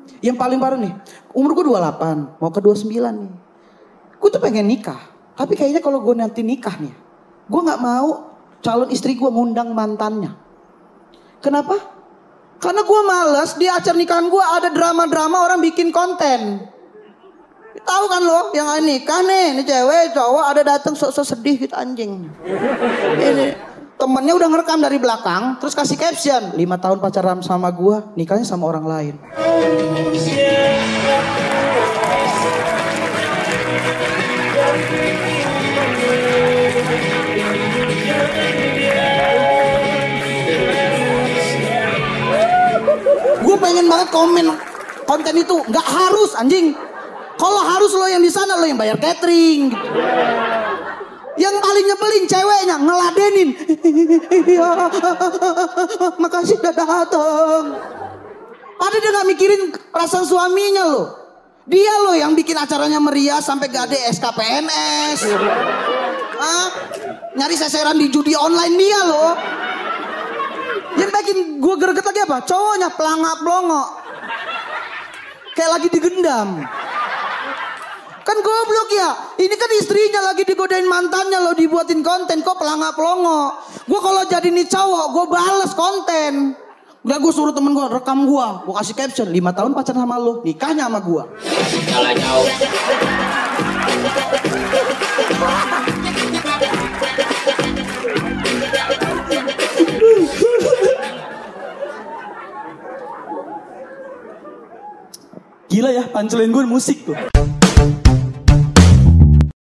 Yang paling parah nih, umur gue 28, mau ke 29 nih. Gue tuh pengen nikah, tapi kayaknya kalau gue nanti nikah nih, gue gak mau calon istri gue ngundang mantannya. Kenapa? Karena gue males di acara nikahan gue ada drama-drama orang bikin konten. Tahu kan lo, yang nikah nih, ini cewek, cowok ada datang sok-sok sedih gitu anjing. Ini temennya udah ngerekam dari belakang, terus kasih caption, 5 tahun pacaran sama gua, nikahnya sama orang lain. Gue pengen banget komen konten itu, nggak harus anjing. Kalau harus lo yang di sana, lo yang bayar catering. Gitu. Yang paling nyebelin ceweknya ngeladenin. Makasih udah dateng. Padahal dia gak mikirin perasaan suaminya loh. Dia loh yang bikin acaranya meriah sampai gak ada SKPNS. Nyari seseran di judi online dia loh. Yang bikin gue greget lagi apa? Cowoknya pelangak blongo. Kayak lagi digendam. Kan goblok ya. Ini kan istrinya lagi digodain mantannya lo, dibuatin konten kok pelangak pelongo. Gue kalau jadi nih cowok, gue bales konten. Udah gue suruh temen gue rekam gue kasih caption 5 tahun pacaran sama lo, nikahnya sama gue. Kalah jauh. Gila ya, punchline gue musik tuh.